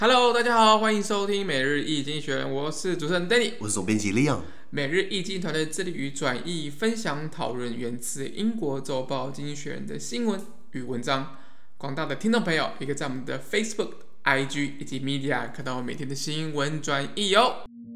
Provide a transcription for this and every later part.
Hello， 大家好，歡迎收聽每日一經濟學人，我是主持人 Danny， 我是總編輯 Leon。 每日一經團隊致力於轉譯、分享、討論源自英國週報《經濟學人》的新聞與文章。廣大的聽眾朋友，也可以在我們的 Facebook、IG 以及 Media 看到我每天的新聞轉譯哦。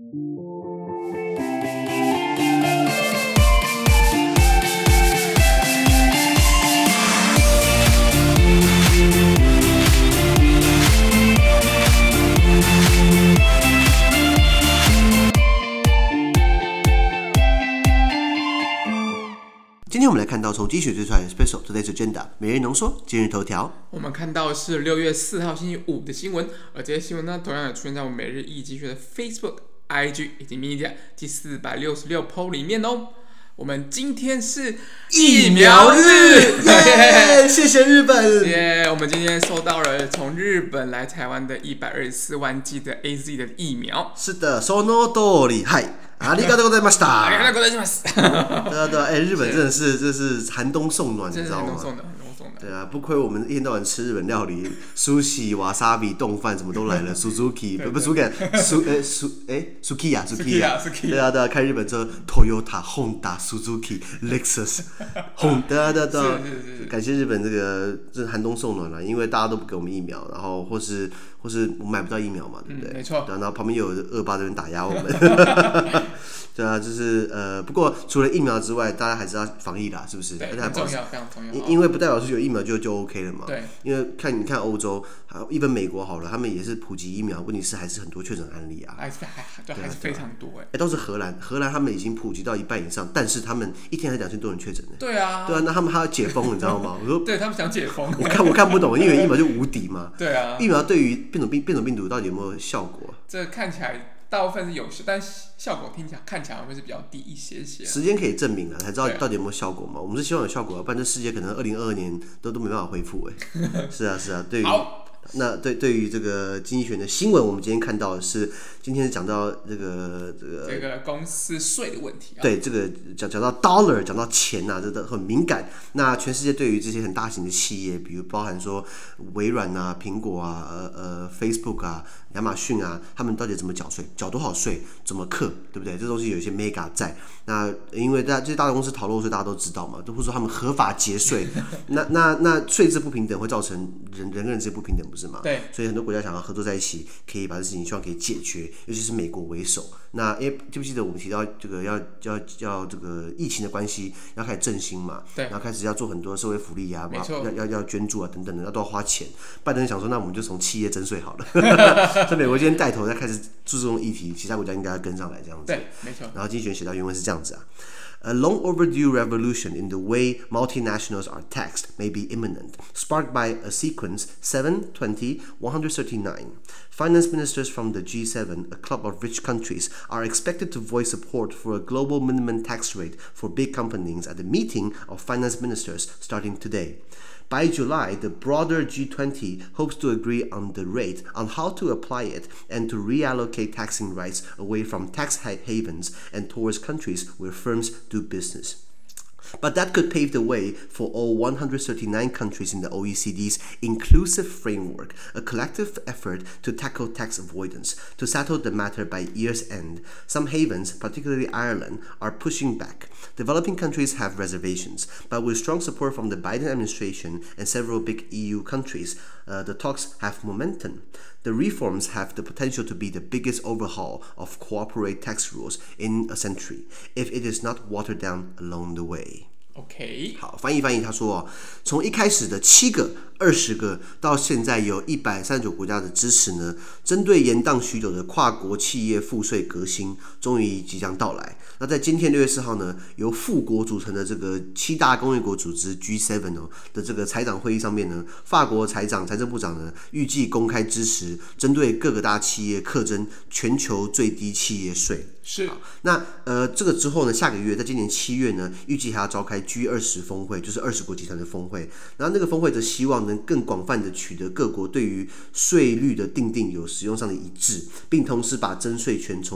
今天我們來看到從經濟學最出來的 Special Today's Agenda 每日濃縮今日頭條。 我們看到是6月4號星期五的新聞，而這些新聞呢，同樣也出現在我們每日一經濟學的 Facebook、IG 以及 Media 第466 po 裡面哦。我們今天是疫苗日， 耶！謝謝日本。 耶！我們今天收到了從日本來台灣的124萬劑的 AZ 的疫苗。 是的，その通り。はい。ありがとうございました。 ありがとうございます。 对啊，日本真的是这是寒冬送暖，你知道吗？ 寒冬送暖。 对啊，不亏我们一天到晚吃日本料理，sushi、wasabi、冻飯什麼都來了。Suzuki 不是 Suzuki，Sukiya。對啊，開日本車 Toyota、Honda、Suzuki、Lexus， 對啊，感謝日本這寒冬送暖了，因為大家都不給我們疫苗，然後或是我們買不到疫苗嘛，對不對？ 沒錯。 然後旁邊有惡霸這邊打壓我們。對啊，就是不過除了疫苗之外，大家還是要防疫啦，是不是？ 對，很重要，非常重要。 因為不代表是有疫苗就 OK 了嘛。 對。因為你看歐洲，even美國好了，他們也是普及疫苗，問題是還是很多確診案例啊。還是非常多都是荷蘭他們已經普及到一半以上，但是他們一天才2000多人確診呢。 對啊， 那他們還要解封，你知道嗎？我說， 對他們想解封。 我看不懂，因為疫苗就無敵嘛。 對啊。疫苗對於變種病毒到底有沒有效果？ 這看起來。大部分是有效，但效果看起来會是比較低一些。 時間可以證明了，才知道到底有沒有效果嘛。我們是希望有效果，不然這世界可能2022年都沒辦法恢復。是啊。對於對於這個經濟學的新聞，我們今天看到的是，今天是講到這個公司稅的問題。 對，這個講到 dollar， 講到錢啊，這都很敏感。那全世界對於這些很大型的企業，比如包含說微軟啊、蘋果啊、Facebook 啊、亞馬遜啊，他們到底怎麼繳稅？繳多少稅？怎麼課？對不對？這東西有一些 mega 在。那因為這些大公司逃漏稅，大家都知道嘛，都不是說他們合法節稅。那稅制不平等會造成人跟人之間不平等，不是嗎？ 對。所以很多國家想要合作在一起，可以把這事情希望可以解決，尤其是美國為首。那記不記得我們提到這個要這個疫情的關係，要開始振興嘛？ 對。 然後開始要做很多社會福利啊，要捐助啊等等的，那都要花錢。拜登想說，那我們就從企業徵稅好了。所以美國今天帶頭在開始注重議題，其他國家應該要跟上來這樣子。 對，沒錯。然後經濟學寫到原文是這樣子啊。A long overdue revolution in the way multinationals are taxed may be imminent, sparked by a sequence 7, 20, 139. Finance ministers from the G7, a club of rich countries, are expected to voice support for a global minimum tax rate for big companies at the meeting of finance ministers starting today. By July, the broader G20 hopes to agree on the rate, on how to apply it, and to reallocate taxing rights away from tax havens and towards countries where firms do business. But that could pave the way for all 139 countries in the OECD's inclusive framework, a collective effort to tackle tax avoidance. To settle the matter by year's end, some havens, particularly Ireland, are pushing back. Developing countries have reservations, but with strong support from the Biden administration and several big EU countries, the talks have momentum. The reforms have the potential to be the biggest overhaul of corporate tax rules in a century, if it is not watered down along the way. OK， 好，翻譯，他說從一開始的7個、20個，到現在有139國家的支持呢，針對延宕許久的跨國企業賦稅革新，終於即將到來。那在今天6月4號呢，由富國組成的這個7大工業國組織 G7 的這個財長會議上面呢，法國財政部長呢預計公開支持針對各個大企業課徵全球最低企業稅。 是。 那這個之後呢，下個月在今年7月呢，預計還要召開G20峰會，就是20國集團的峰會。然後那個峰會則希望能更廣泛的取得各國對於稅率的訂定有使用上的一致，並同時把徵稅權從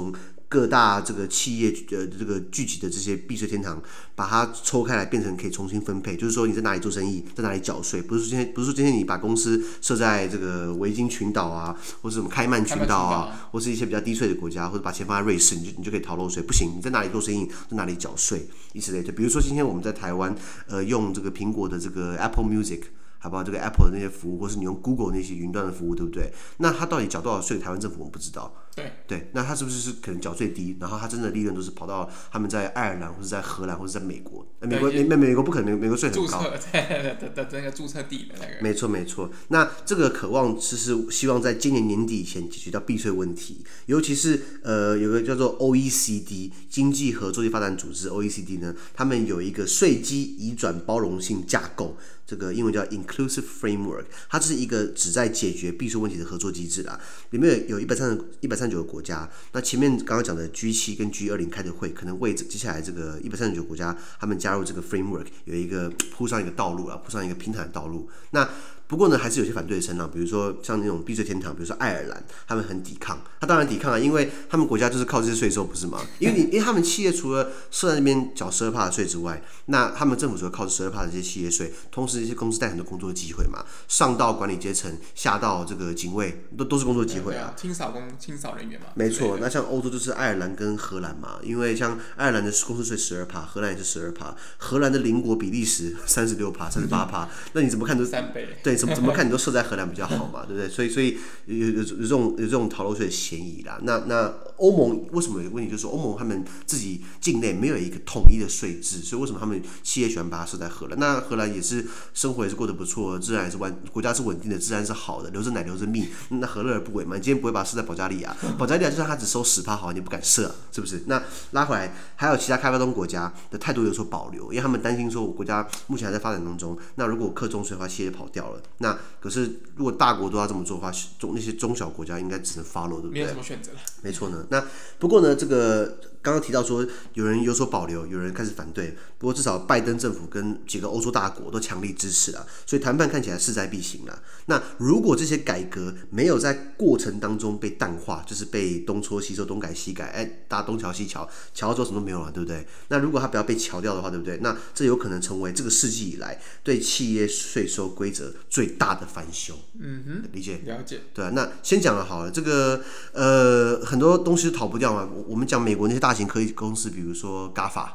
各大這個企業這個聚集的這些避稅天堂，把它抽開來變成可以重新分配，就是說你在哪裡做生意，在哪裡繳稅，不是說今天你把公司設在這個維京群島啊，或者什麼開曼群島啊，或是一些比較低稅的國家，或者把錢放在瑞士，你就可以逃漏稅，不行，你在哪裡做生意，在哪裡繳稅，以此類推。比如說今天我們在台灣，用這個蘋果的這個 Apple Music。好不好？這個 Apple 的那些服務，或是你用 Google 那些雲端的服務，對不對？那它到底繳多少稅？台灣政府我們不知道。对，那它是不是可能繳最低？然後它真的利潤都是跑到他們在愛爾蘭，或者在荷蘭，或者在美國。美國不可能，美國稅很高。 的那個註冊地的那個。 沒錯。那這個渴望是希望在今年年底以前解決掉避稅問題，尤其是有個叫做 OECD 經濟合作與發展組織 OECD 呢，他們有一個稅基移轉包容性架構。這個英文叫 Inclusive Framework， 它是一個旨在解決避稅問題的合作機制啦。裡面有139個國家，那前面剛剛講的 G7 跟 G20 開的會，可能為接下來這個139個國家他們加入這個 framework 有一個鋪上一個道路啊，鋪上一個平坦的道路。那不過呢，還是有些反对的声浪，比如說像那種避稅天堂，比如說愛爾蘭，他們很抵抗。他當然抵抗啊，因為他們國家就是靠這些稅收，不是嗎？因為他們企業除了設在那邊繳12%的稅之外，那他們政府除了靠12%的這些企業稅，同時這些公司帶很多工作機會嘛，上到管理階層，下到這個警衛，都是工作機會啊。 清掃人員嘛。 沒錯，那像歐洲就是愛爾蘭跟荷蘭嘛，因為像愛爾蘭的公司稅12%，荷蘭也是12%，荷蘭的鄰國比利時36%、38%，那你怎麼看都 3倍。 對。怎麼看你都設在荷蘭比較好嘛，对不對？所以有這種逃漏稅的嫌疑啦。那歐盟為什麼有個問題？就是說歐盟他們自己境內沒有一個統一的稅制，所以為什麼他們企業喜歡把它設在荷蘭？那荷蘭也是生活也是過得不錯，自然也是國家是穩定的，自然是好的，留着奶留着蜜，那何樂而不為嘛？你今天不會把它設在保加利亞，保加利亞就算它只收10%好，你不敢設，是不是？那拉回來，還有其他開發中國家的態度有所保留，因為他們擔心說我國家目前還在發展當中，那如果課重稅的話，企業跑掉了。那可是如果大國都要這麼做的話，那些中小國家應該只能 follow， 對不对？ 沒有什麼選擇了。 沒錯呢。那不過呢，這個剛剛提到說有人有所保留，有人開始反對。不過至少拜登政府跟幾個歐洲大國都強力支持了，所以談判看起来勢在必行了。那如果這些改革沒有在過程當中被淡化，就是被東搓西搓、東改西改，大家東瞧西瞧，瞧到之後什麼都沒有了，對不對？那如果它不要被瞧掉的話，對不對？那這有可能成為這個世紀以來對企業稅收規則最大的翻修。理解？ 了解。 對啊，那先講了好了，這個很多東西都逃不掉嘛。我們講美國那些大型科技公司，比如說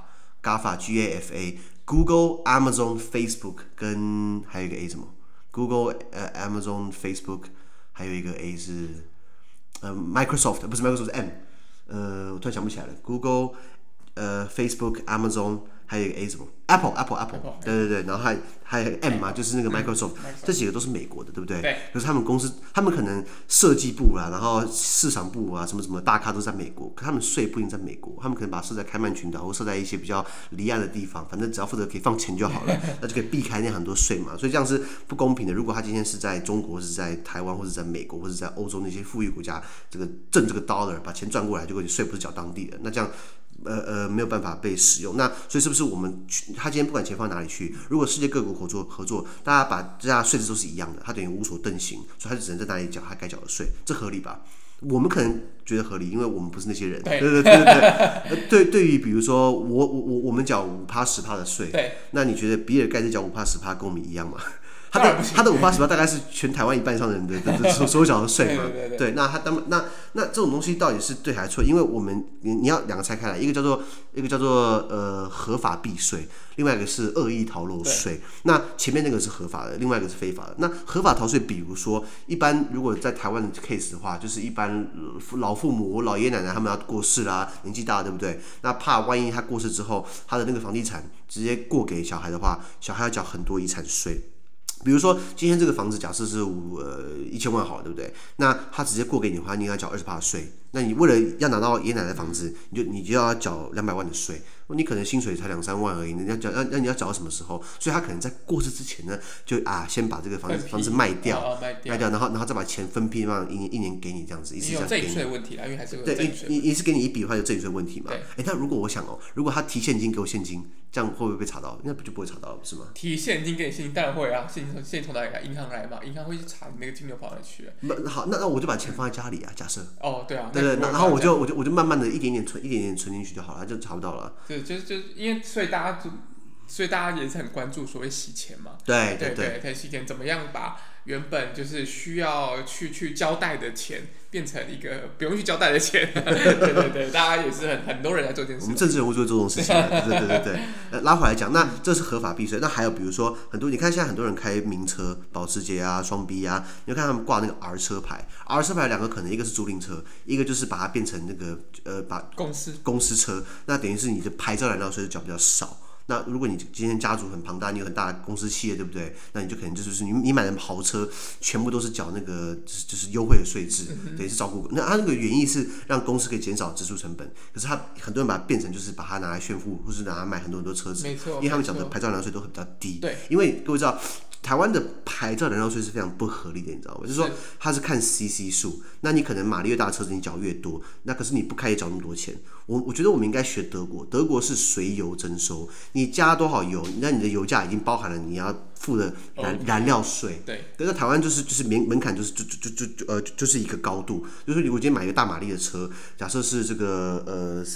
GAFA、Google、Amazon、Facebook 跟還有一個 A 什麼 ？Google、Amazon、Facebook 還有一個 A 是Microsoft， 不是 Microsoft 是 M， 我突然想不起來了。Google、Facebook、Amazon 還有一個 A 什麼 ？Apple， 对，然後還有 M 嘛，就是那個 Microsoft，這幾個都是美國的，對不對？對。可是他們公司，他們可能設計部啊，然後市場部啊，什麼大咖都在美國，可他們稅不一定在美國，他們可能把它設在開曼群島，或設在一些比較離岸的地方，反正只要負責可以放錢就好了，那就可以避開那很多稅嘛。所以這樣是不公平的。如果他今天是在中國，是在台灣，或者在美國，或者在歐洲那些富裕國家，掙這個 dollar 把錢賺過來，結果你稅不是繳當地的，那這樣。沒有辦法被使用，那所以是不是我們他今天不管錢放哪裡去，如果世界各國合作，大家把这家稅制都是一樣的，他等於無所遁形，所以他就只能在哪裡繳他該繳的稅，這合理吧？我們可能覺得合理，因為我們不是那些人。對。對於比如說我們繳5%、10%的稅，那你覺得比爾蓋茨繳5%、10%跟我們一樣嗎？他的5%、10%大概是全台灣一半以上的人的所有繳的稅嘛？對，那那這種東西到底是对還是錯？因為我們你要兩個拆開來，一個叫做合法避稅，另外一個是惡意逃漏稅。那前面那個是合法的，另外一個是非法的。那合法逃稅，比如說一般如果在台灣的 case 的話，就是一般老父母、老爺爺奶奶他們要過世啦，年紀大了，對不對？那怕萬一他過世之後，他的那個房地產直接過給小孩的話，小孩要繳很多遺產稅。比如說，今天這個房子假設是1000萬好了，對不對？那他直接過給你的話，你要繳20%的稅。那你為了要拿到爺爺奶奶的房子，你就要繳200萬的稅。 你可能薪水才2-3萬而已，你要找到什麼時候？所以他可能在過世之前呢，就先把这個房子賣掉，然後再把錢分批嘛，一年給你這樣子，一次这樣給你。 有赠与稅問題啦，因為還是有赠與稅。 一次給你一筆的話，有贈與稅問題嘛？那如果我想如果他提現金給我現金，這樣會不會被查到？那就不會查到了，不是嗎？ 提現金給你現金，當然會啊，現金從哪裡來？銀行來嘛，銀行會去查你那個金流跑哪去。 好，那我就把錢放在家裡啊，假設。 對啊。 对，然後我就慢慢的一點點存進去就好了，就查不到了。 就因為所以大家也是很關注所謂洗錢嘛。 對， 洗錢怎麼樣把原本就是需要去交代的錢變成一個不用去交代的錢。对，大家也是很多人在做這件事。 我們政治人物就會做這種事情。對。拉回來講，那這是合法避稅。那還有比如說你看現在很多人開名車，保時捷啊、雙 B 啊，你就看他們掛那個 R 車牌。R 車牌2個可能，一個是租賃車，一個就是把它變成那個把公司車，那等於是你的牌照燃料稅繳比較少。那如果你今天家族很龐大，你有很大的公司企業，對不對？那你就可能就是你買的豪車全部都是繳那個就是優惠的稅制，等於是照顧。那它那個原意是讓公司可以減少支出成本，可是很多人把它變成就是把它拿來炫富，或是拿來買很多車子，因為他們繳的牌照燃料稅都会比較低。 对， 因為各位知道。台灣的牌照燃料稅是非常不合理的，你知道嗎？就是說它是看 CC 數，那你可能馬力越大的車子你繳越多，那可是你不開也繳那麼多錢。我覺得我們應該學德國，德國是隨油徵收，你加多少油，那你的油價已經包含了你要付的燃料稅。 对， 但是台灣就是門檻就是一個高度，就是如果今天買一個大馬力的車，假設是這個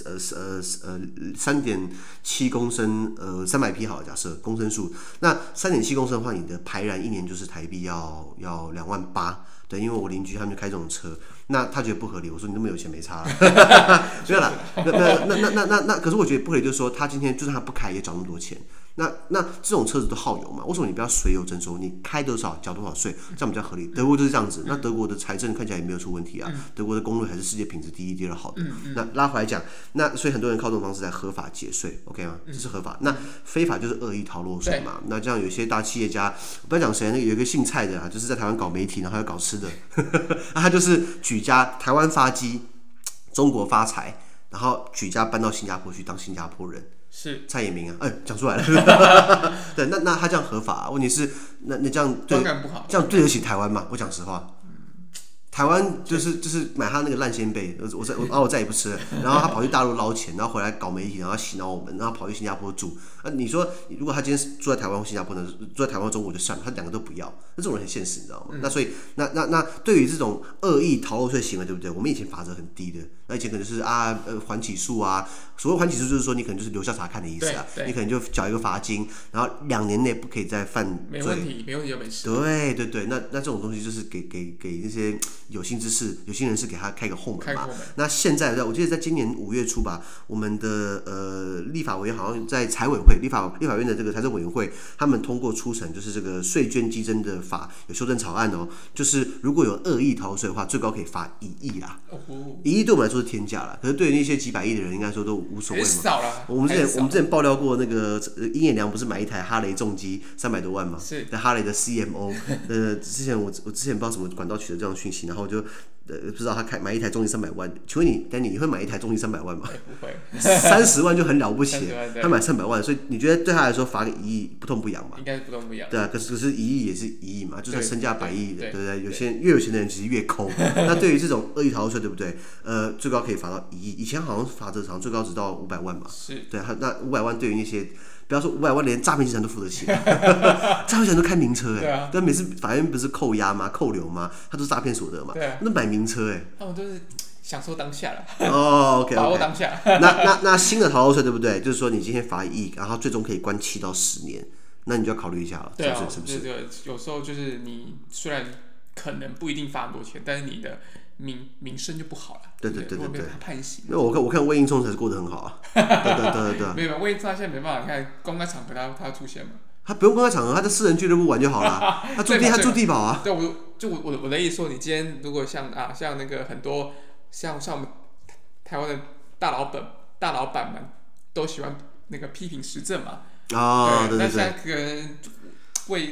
3.7公升300匹好了，假設公升數，那3.7公升的話，你的排燃一年就是台幣要2.8萬。对，因為我鄰居他們就開這種車，那他覺得不合理。我說你那麼有錢沒差了，沒有啦。那可是我覺得不合理，就是說他今天就算他不開也繳那麼多錢。那這種車子都耗油嘛？為什麼你不要隨油徵收？你開多少繳多少稅，這樣比較合理。德國就是這樣子。那德國的財政看起來也沒有出問題啊。德國的公路還是世界品質第一、第二好的。那拉回來講，那所以很多人靠這種方式來合法節稅 ，OK 嗎？這是合法。那非法就是惡意逃漏稅嘛。那這樣有些大企業家，不要講誰，那個有一個姓蔡的啊，就是在台灣搞媒體，然後還要搞吃的，他就是舉家台灣發跡，中國發財，然後舉家搬到新加坡去當新加坡人。是蔡衍明啊，講出來了。对，那他這樣合法、啊？問題是，那這樣對，這樣對得起台灣嗎？我講實話，台灣就是買他那個爛仙貝，我再也不吃了。然後他跑去大陸撈錢，然後回來搞媒體，然後洗腦我們，然後跑去新加坡住。你說如果他今天住在台灣或新加坡呢？住在台灣、中國就算了，他2個都不要。那這種人很現實，你知道嗎？那所以那對於這種惡意逃漏稅行為，對不對？我們以前罰則很低的，那以前可能就是緩起訴啊。所謂緩起訴就是說你可能就是留校察看的意思啊，你可能就繳一個罰金，然後2年內不可以再犯罪。沒問題就沒事。對，那這種東西就是給那些有心人士給他開個後門嘛。那現在我記得在今年5月初吧，我們的立法委員好像在財委會立法院的這個財政委員會，他們通過出成就是這個稅捐稽徵的法有修正草案哦，就是如果有惡意逃稅的話，最高可以罰1億啦。1億對我們來說是天價啦，可是對於那些幾百億的人，應該說都無所謂嘛。我們之前爆料過那個殷衍良不是買一台哈雷重機300多萬嘛？是。哈雷的 CMO， 之前我之前不知道什麼管道取得這樣訊息，然後我就不知道他買一台重機300萬，請問你會買一台重機300萬嗎？不會，30萬就很了不起了，他買300萬，所以你覺得對他來說罰個1億不痛不癢嘛？應該是不痛不癢。對啊，可是1億也是1億嘛，就算身價100億的，對不對？越有錢的人其實越摳。那對於這種惡意逃漏稅，對不對？最高可以罰到1億，以前好像罰則好像最高只到500萬嘛。是。對，那500萬對於那些。不要說500萬，連詐騙集團都付得起。詐騙集团都開名車哎，但每次法院不是扣押嗎？扣留嗎？他都是詐騙所得嘛。那買名車哎，他們都是享受當下了。OK， 把握當下。那新的逃漏稅對不對？就是說你今天罰1億，然後最終可以關7到10年，那你就要考慮一下了，是不是？對，有時候就是你雖然可能不一定罰很多錢，但是你的名聲就不好了。对，如果被他判刑，那我看魏應充才是過得很好啊。对。沒有，魏應充他現在沒辦法，你看公開場合他要出現嘛。他不用公開場合，他在私人俱樂部玩就好了。他住地堡啊。對，我的意思說，你今天如果像那個很多像我們台灣的大老闆們都喜歡那個批評時政嘛。對。那現在可能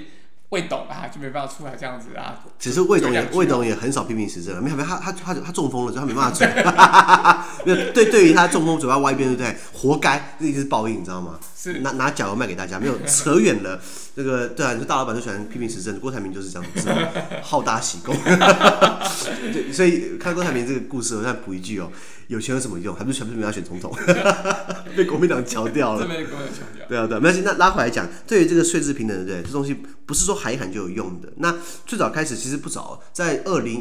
魏董啊，就沒辦法出來這樣子啊。 其實魏董也很少批評時政了，沒有他中風了，所以他沒辦法嘴。對於他中風嘴巴歪一邊，對不對？活該，這一定是報應，你知道嗎？是拿腳油賣給大家，沒有扯遠了。这個對啊，你說大老闆都喜歡批評時政，郭台銘就是這樣子，好大喜功。對，所以看郭台銘這個故事，我再補一句哦。有錢有什麼用？還不是全部要選總統，被國民黨敲掉了。被國民黨敲掉。對啊，對，沒關係。那拉回來講，對於這個稅制平等，對，這東西不是說喊一喊就有用的。那最早開始其實不早，在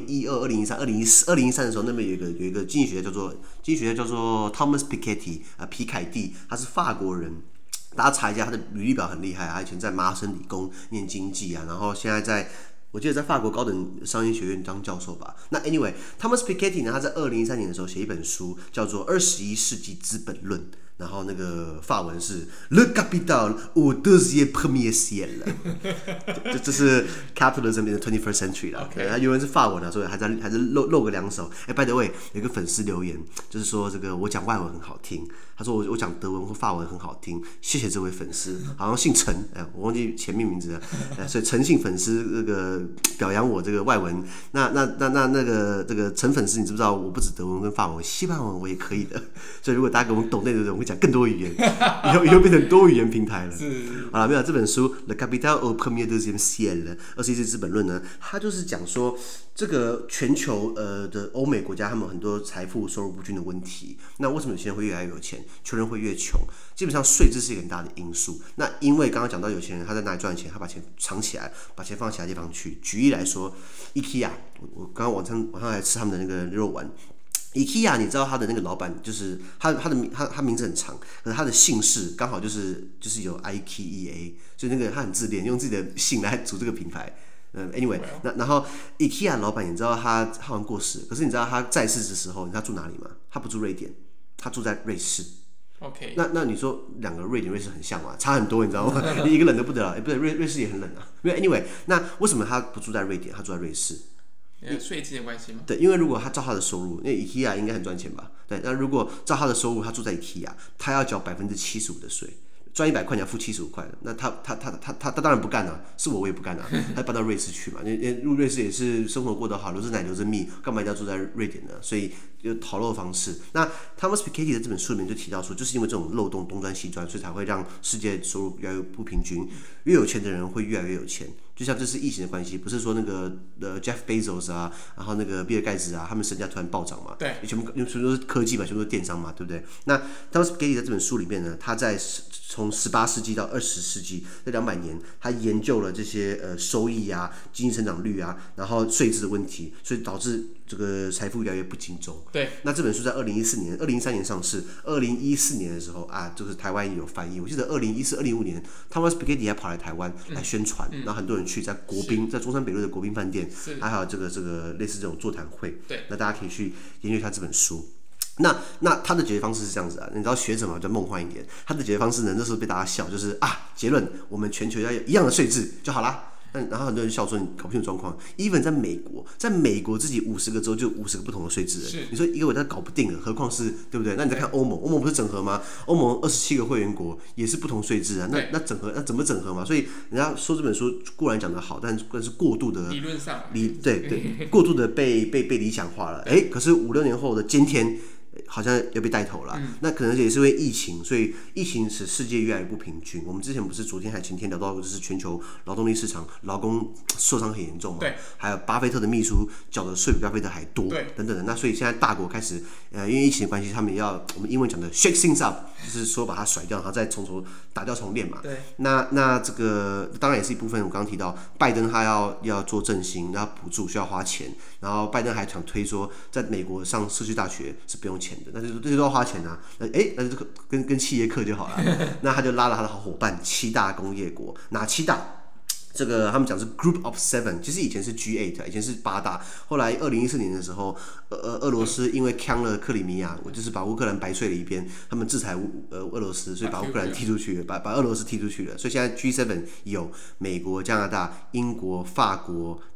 2012、2013、2013的時候，那邊有一個經濟學家叫做 Thomas Piketty 皮凱蒂，他是法國人。大家查一下，他的履歷表很厲害，他以前在麻省理工念經濟啊，然後現在我記得在法國高等商業學院當教授吧。那 anyway，Thomas Piketty 呢，他在2013年的時候写一本書，叫做《21世紀資本論》。然後那個法文是 Le Capital au deuxième premier siècle 這是 Capitalism in the 21st century 啦。Okay. 他原文是法文啊，所以還是露個兩手。by the way， 有一個粉絲留言，就是說這個我講外文很好聽，他說我講德文或法文很好聽，謝謝這位粉絲，好像姓陳，我忘記前面名字了，所以陳姓粉絲這個表揚我這個外文。那個這個陳粉絲，你知不知道我不止德文跟法文，西班牙文我也可以的。所以如果大家給我們抖內的人，講更多語言，以後變成多語言平台了。好了，沒有這本書《Le Capital au premier deuxième siècle》21世紀資本論呢，它就是講說這個全球的歐美國家，他們很多財富收入不均的問題。那為什麼有錢人會越來越有錢，窮人會越窮？基本上稅制是一個很大的因素。那因為剛剛講到有錢人他在哪裡賺錢，他把錢藏起來，把錢放其他地方去。舉例來說 ，IKEA， 我剛剛晚上來吃他們的那個肉丸。IKEA， 你知道他的那個老闆就是他名字很長，可是他的姓氏剛好就是有 IKEA， 所以那個他很自戀，用自己的姓來組這個品牌。anyway， 然後 IKEA 老闆，你知道他好像過世，可是你知道他在世的時候，你知道他住哪裡嗎？他不住瑞典，他住在瑞士。OK， 那你說兩個瑞典、瑞士很像嗎？差很多，你知道嗎？一個冷得不得了，不对，瑞士也很冷啊。因為 anyway， 那為什麼他不住在瑞典，他住在瑞士？ 稅制的關係嗎？ 對，因為如果他照他的收入，因為 IKEA 應該很賺錢吧？對，那如果照他的收入，他住在 IKEA， 他要繳75%的稅，賺100塊你要付75塊的，那他當然不幹了，是我也不幹了，他搬到瑞士去嘛，因為瑞士也是生活過得好，留着奶留着蜜，幹嘛一定要住在瑞典呢？所以就逃漏的方式。那 Thomas Piketty 的這本書裡面就提到說，就是因為這種漏洞東鑽西鑽，所以才會讓世界收入越來越不平均，越有錢的人會越來越有錢。就像這是疫情的關係，不是說那個Jeff Bezos 啊，然後那個比爾蓋茨啊，他們身價突然暴漲嘛，對，全部都是科技嘛，全部都是電商嘛，對不對？那 Thomas Piketty 在這本書裡面呢，他在從18世紀到20世紀這200年，他研究了這些收益啊、經濟成長率啊，然後稅制的問題，所以導致這個財富越來越不集中。對，那這本書在2013年上市，2014年的時候啊，就是台灣也有翻譯。我記得2014、2015年，Thomas Piketty 還跑來台灣來宣傳，然後很多人去在國賓，在中山北路的國賓飯店，還有這個類似這種座談會。對，那大家可以去研究一下這本書。那他的解決方式是這樣子啊，你知道學者嘛，比較夢幻一點。他的解決方式呢，那時候被大家笑，就是結論，我們全球要有一樣的稅制就好啦。然後很多人笑說你搞不清楚狀況。even 在美國自己50個州就50個不同的稅制，你說一個國家搞不定了，何況是對不對？那你再看歐盟不是整合嗎？歐盟27個會員國也是不同稅制啊。那整合，那怎麼整合嘛？所以人家說這本書固然講得好，但是過度的理論上對過度的被理想化了。可是5-6年後的今天，好像要被帶頭了，那可能也是因为疫情，所以疫情使世界越来越不平均。我們之前不是昨天還前天聊到，就是全球勞動力市場勞工受傷很嚴重嘛，對，還有巴菲特的秘書繳的稅比巴菲特還多，對，等等的。那所以現在大國開始，因為疫情的關係，他們我們英文講的 shake things up， 就是說把它甩掉，然後再從頭打掉重練嘛。對，那這個當然也是一部分。我剛剛提到，拜登他要做振興，要補助需要花錢，然後拜登還想推說，在美國上社區大學是不用錢的，那這些都要花錢啊。那就跟企業課就好了。那他就拉了他的好夥伴7大工業國，哪7大？這個他們講是 Group of Seven， 其實以前是 G8， 以前是8大。後來2014年的時候，俄羅斯因為搶了克里米亞，就是把烏克蘭白睡了一邊，他們制裁俄羅斯，所以把烏克蘭踢出去了，把俄羅斯踢出去了。所以現在 G7 有美國、加拿大、英國、法國、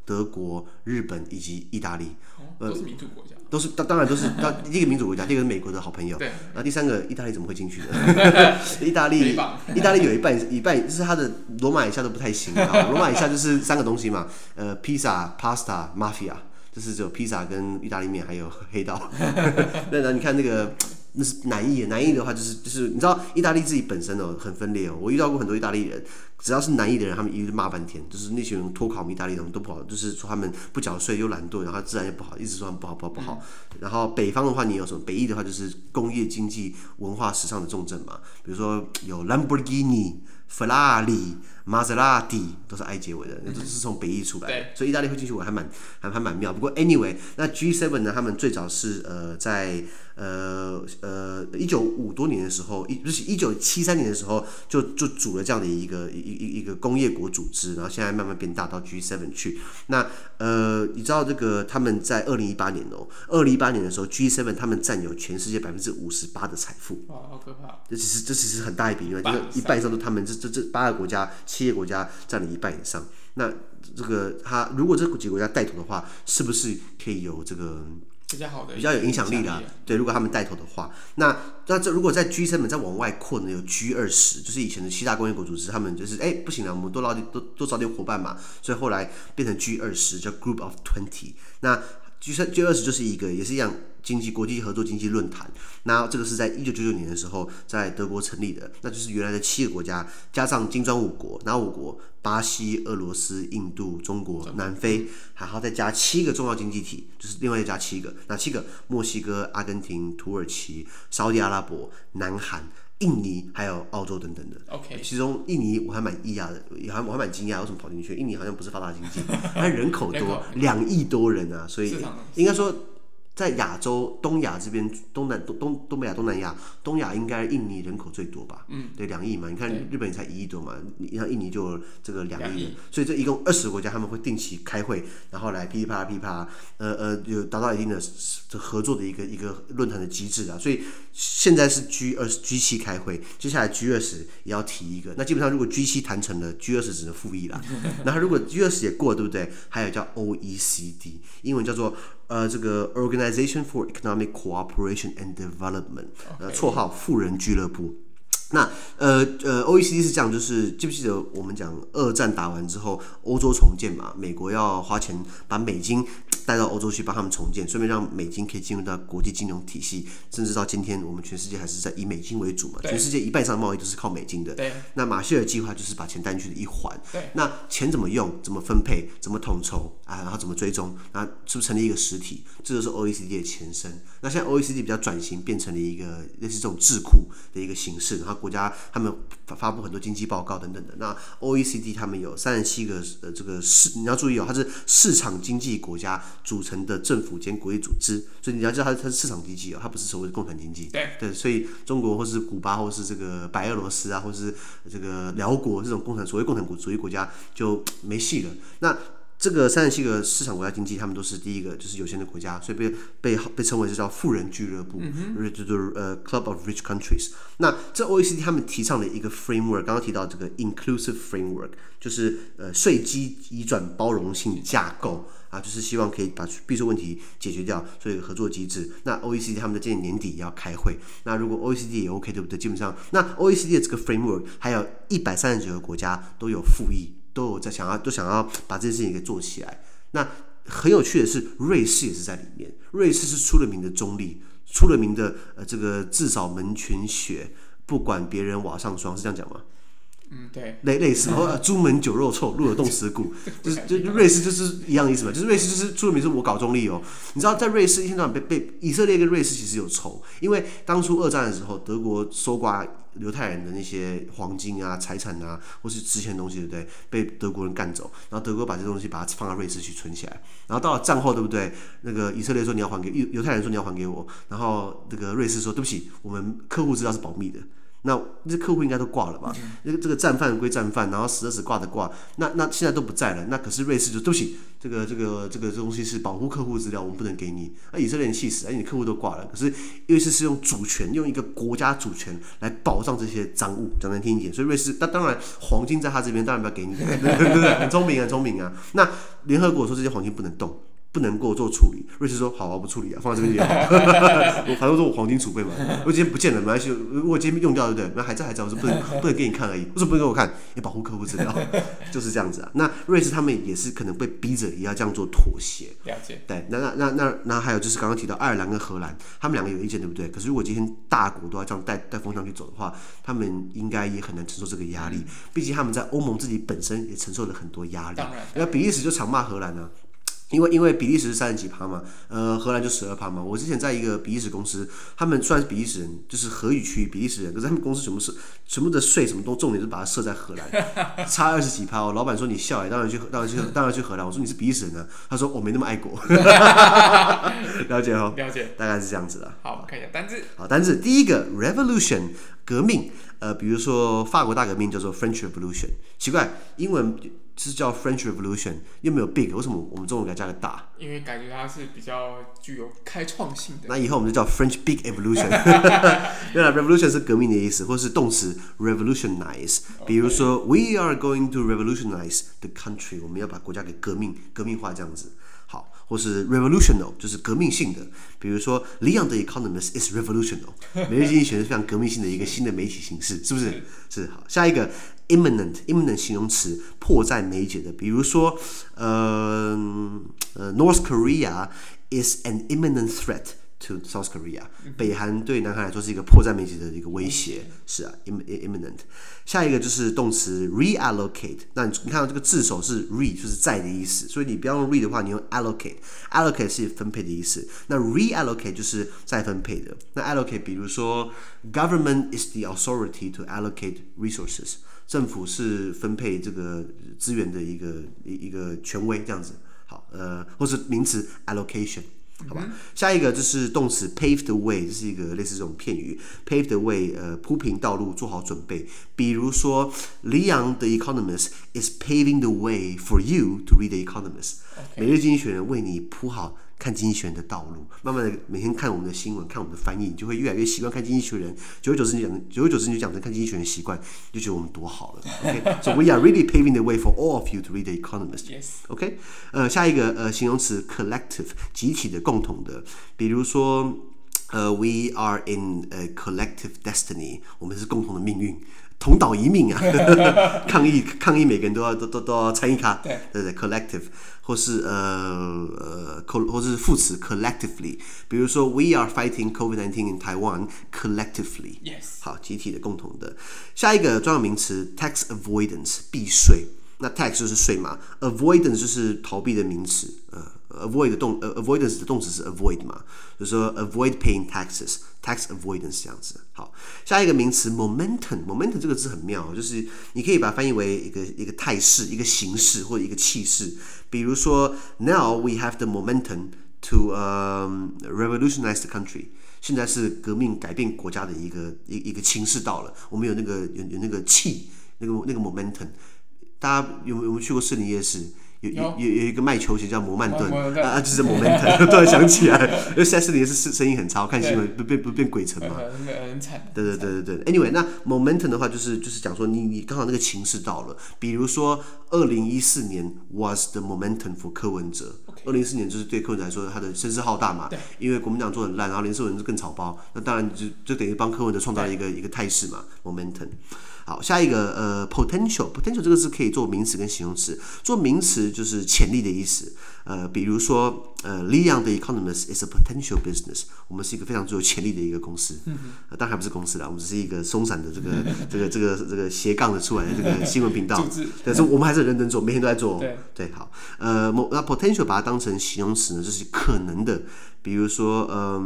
德國、日本以及意大利。 都是民主国家。 当然都是第一個民主國家，第二個是美國的好朋友。 对。 然後第三個，意大利怎麼會進去呢？意大利有一半就是它的羅馬以下都不太行啊。羅馬以下就是3個東西嘛，披薩、pasta、mafia， 就是只有披薩跟意大利麵還有黑道。那你看那是南意的話就是你知道意大利自己本身很分裂我遇到過很多意大利人，只要是南意的人，他们一律骂半天，就是那群人脱考我们意大利人都不好，就是說他們不繳稅又懶惰，然後自然又不好，一直說他們不好。然後北方的話，你有什麼？北意的話就是工業經濟文化時尚的重鎮嘛，比如說有蘭博基尼、法拉利、瑪莎拉蒂，都是 I 結尾的，都是從北意出来的，所以意大利會進去我還蠻妙。不過 anyway， 那 G7 呢，他們最早是在1950多年的時候，不是1973年的时候就組了這樣的一個工業國組織，然後現在慢慢變大到 G7 去。那你知道這個他們在2018年的時候 G7 他們佔有全世界58%的財富。 哇，好可怕！ 這其實很大一筆，因為一半以上都他們這8個國家7個國家佔了一半以上。那這個如果這幾個國家帶頭的話，是不是可以有這個比較有影響力的對，如果他們帶頭的話，那這如果在 G7 再往外擴呢，有 G20， 就是以前的7大工業國組織，他們就是不行了，我們多找點夥伴嘛，所以後來變成 G20， 叫 Group of 20。那 G20 就是也是一樣國際合作經濟論壇，那這個是在1999年的時候在德國成立的，那就是原來的7個國家加上金磚5國，哪5國？巴西、俄羅斯、印度、中國、南非，還好再加7個重要經濟體，就是另外再加7個，哪7個？墨西哥、阿根廷、土耳其、沙特阿拉伯、南韓、印尼還有澳洲等等的。 OK， 其中印尼我還蠻意外的，我還蠻驚訝，為什麼跑進去？印尼好像不是發達經濟，它人口多，2億多人啊，所以應該說。在亞洲、東亞這邊，東北亞、東南亞，東亞應該印尼人口最多吧？對，2億嘛。你看日本才1億多嘛，你看印尼就有這個2億，所以這一共20個國家他們會定期開會，然後來噼里啪啦，有達到一定的合作的一個論壇的機制啊。所以現在是 G7 開會，接下來 G20 也要提一個。那基本上如果 G7 談成了 ，G20 只能附議啦。然後如果 G20 也過了，對不對？還有叫 OECD， 英文叫做這個 Organization for Economic Cooperation and Development， 綽號富人俱樂部。那OECD 是這樣，就是記不記得我們講2戰打完之後，歐洲重建嘛，美國要花錢把美金帶到歐洲去幫他們重建，順便讓美金可以進入到國際金融體系，甚至到今天我們全世界還是在以美金為主嘛，全世界一半以上的貿易都是靠美金的。那馬歇爾計劃就是把錢帶進去的一環。那錢怎麼用、怎麼分配、怎麼統籌啊，然後怎麼追蹤，那是不是成立一個實體？這就是 OECD 的前身。那現在 OECD 比較轉型，變成了一個類似這種智庫的一個形式，然後國家他們發布很多經濟報告等等的。那 OECD 他們有37個這個你要注意它是市場經濟國家組成的政府兼國際組織，所以你要知道它是市場經濟它不是所謂的共產經濟。對，所以中國或是古巴或是這個白俄羅斯啊，或是這個寮國這種所謂共產主義國家就沒戲了。那這個37個市場國家經濟，他們都是第一個就是有錢的國家，所以被稱為是叫富人俱樂部，就是Club of Rich Countries。那這 OECD 他們提倡的一個 framework， 剛剛提到這個 inclusive framework， 就是稅基移轉包容性架構啊，就是希望可以把避稅問題解決掉，所以有個合作機制。那 OECD 他們在今年年底也要開會，那如果 OECD 也 OK， 對不對？基本上，那 OECD 的這個 framework 還有139個國家都有附議。都想要把這件事情給做起來。那很有趣的是，瑞士也是在裡面。瑞士是出了名的中立，出了名的這個至少门全雪，不管別人瓦上霜，是這樣講嗎？ 對， 類似，朱門酒肉臭，路有凍死骨，就瑞士就是一樣的意思嘛，就是瑞士就是出了名是我搞中立哦。你知道在瑞士一天到晚被以色列跟瑞士其實有仇，因為當初2戰的時候，德國搜刮猶太人的那些黃金啊、財產啊，或是值錢的東西，對不對？被德國人幹走，然後德國把這東西把它放到瑞士去存起來，然後到了戰後，對不對？那個以色列說你要還給猶太人說你要還給我，然後那個瑞士說對不起，我們客戶資料是保密的。 那這客戶應該都掛了吧？這個戰犯歸戰犯，然後死的死，掛的掛，那現在都不在了。那可是瑞士就對不起，這個東西是保護客戶資料，我們不能給你。那以色列人氣死，你客戶都掛了。可是瑞士是用主權，用一個國家主權來保障這些贓物，講難聽一點。所以瑞士，那當然黃金在他這邊，當然不要給你，對不對？很聰明啊。那聯合國說這些黃金不能動。不能夠做處理，瑞士說好啊，不處理啊，放在這邊也好。我反正說我黄金儲備嘛，我今天不見了，沒關係，如果今天用掉，對不對？還在，我說不能給你看而已。为什麼不能給我看？也保護客戶資料，就是這樣子啊。那瑞士他們也是可能被逼着也要這樣做妥協。 了解。 對，那還有就是剛剛提到愛爾蘭跟荷蘭，他們兩個有意見，對不對？可是如果今天大國都要這樣帶風向去走的話，他們應該也很難承受這個壓力。畢竟他們在歐盟自己本身也承受了很多壓力。當然。那比利時就常罵荷蘭啊。因為比利時是30幾%嘛，荷蘭就12%嘛。我之前在一個比利時公司，他們雖然是比利時人，就是荷語區比利時人，可是他們公司全部的稅什麼都重點是把它設在荷蘭，差20幾%。老闆說你笑當然去荷蘭。我說你是比利時人啊，他說我沒那麼愛國。了解哦， 了解， 大概是這樣子的。 好，我們看一下單字。 好，單字第一個 revolution 革命，比如說法國大革命叫做 French Revolution， 奇怪，英文是叫 French Revolution， 又没有 big， 为什麼我們中文給它加個大？因為感覺它是比較具有開創性的。那以後我們就叫 French Big Evolution。原來 revolution 是革命的意思，或是動詞 revolutionize。比如說 We are going to revolutionize the country， 我們要把國家給革命化這樣子。好，或是 revolutional 就是革命性的，比如說 Leon the Economist is revolutional， 每日經濟學是非常革命性的一個新的媒體形式，是不是？是。好，下一個 imminent 形容詞，迫在眉睫的，比如說North Korea is an imminent threat to South Korea， 北韓對南韓來說是一個迫在眉睫的一個威脅，是啊 imminent。下一個就是動詞 reallocate， 那你看到這個字首是 re， 就是在的意思，所以你不要用 re 的話，你用 allocate 是分配的意思，那 reallocate 就是再分配的。那 allocate 比如說 government is the authority to allocate resources， 政府是分配這個資源的一個權威這樣子。好，或是名詞 allocation。好吧，下一個就是動詞 pave the way， 這是一個類似這種片語 ，pave the way， 鋪平道路，做好準備。比如說 Leon the Economist is paving the way for you to read the Economist。每日經濟學人為你鋪好看經濟學人的道路，慢慢的每天看我們的新聞，看我們的翻譯，你就會越來越習慣看經濟學人。久而久之你就養成看經濟學人的習慣，就覺得我們多好了。OK，so we are really paving the way for all of you to read the Economist。Yes。OK， 下一個形容詞 collective， 集體的、共同的，比如說we are in a collective destiny， 我們是共同的命運。同島一命啊！抗議，每個人都要參與卡，對 ，collective， 或是或是副詞 collectively， 比如說 We are fighting COVID-19 in Taiwan collectively。Yes。好，集體的、共同的。下一個專有名詞 tax avoidance， 避稅。那 tax 就是稅嘛 ，avoidance 就是逃避的名詞。avoidance 的動詞是 avoid 嘛，就是說 avoid paying tax avoidance 這樣子。好，下一個名詞 momentum 這個字很妙，就是你可以把它翻譯為一個態勢、一個形式或者一個氣勢。比如說 Now we have the momentum to revolutionize the country。現在是革命改變國家的一個情勢到了，我們有那個氣，那個 momentum。大家有沒有去過士林夜市？有一個賣球鞋叫摩曼頓就是 momentum， 突然想起來，因為現在士林夜市生意很差，我看新聞不變鬼城嘛， 很慘。 對。Anyway， 那 momentum 的話就是講說你剛好那個情勢到了，比如說2014年 was the momentum for 柯文哲。2014年就是對柯文哲來說他的聲勢浩大嘛，因為國民黨做很爛，然後連勝文就更草包，那當然就等於幫柯文哲創造了一個態勢嘛 momentum。好，下一個potential 這個字可以做名詞跟形容詞。做名詞就是潛力的意思。比如說Leon the Economist is a potential business， 我們是一個非常具有潛力的一個公司。當然還不是公司啦，我們只是一個鬆散的這個斜槓的出來的這個新聞頻道。但是我們還是很認真做，每天都在做。對，好。那 potential 把它當成形容詞呢，就是可能的。比如說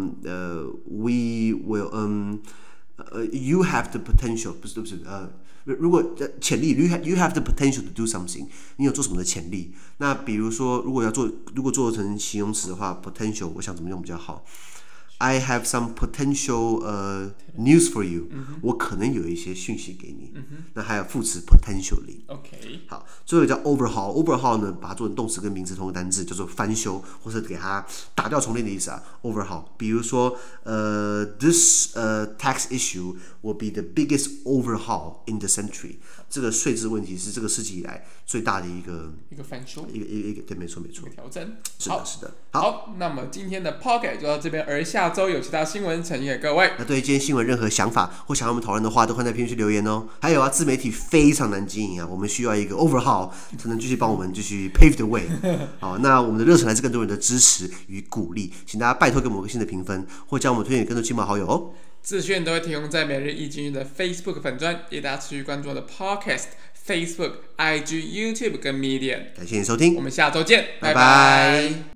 we will you have the potential， 不是，如果潛力 you have the potential to do something， 你有做什麼的潛力？那比如說，如果做成形容詞的話 ，potential 我想怎麼用比較好 I have some potential news for you，我可能有一些讯息给你。那還有副詞 potentially。OK。好，最後一個叫 overhaul。overhaul 呢，把它做成動詞跟名詞同一個單字，叫做翻修，或是給它打掉重練的意思啊。overhaul。比如說this tax issue will be the biggest overhaul in the century。這個稅制問題是這個世紀以來最大的一個翻修，一個對，沒錯沒錯，調整。是的。 好，那麼今天的 Podcast 就到這邊，而下周有其他新聞呈現給各位。 那對於今天新聞任何想法或想要我們討論的話，都歡迎在評論區留言哦。還有啊，自媒體非常難經營啊，我們需要一個 overhaul 才能繼續幫我們繼續 pave the way。好，那我們的熱忱來自更多人的支持與鼓勵，請大家拜託給我們個新的評分，或將我們推薦給更多親朋好友哦。 資訊都會提供在每日一經濟的 Facebook 粉專，也大家持續關注我的 Podcast、Facebook、IG、YouTube 跟 Medium。 感謝你收聽， 我們下周見，拜拜。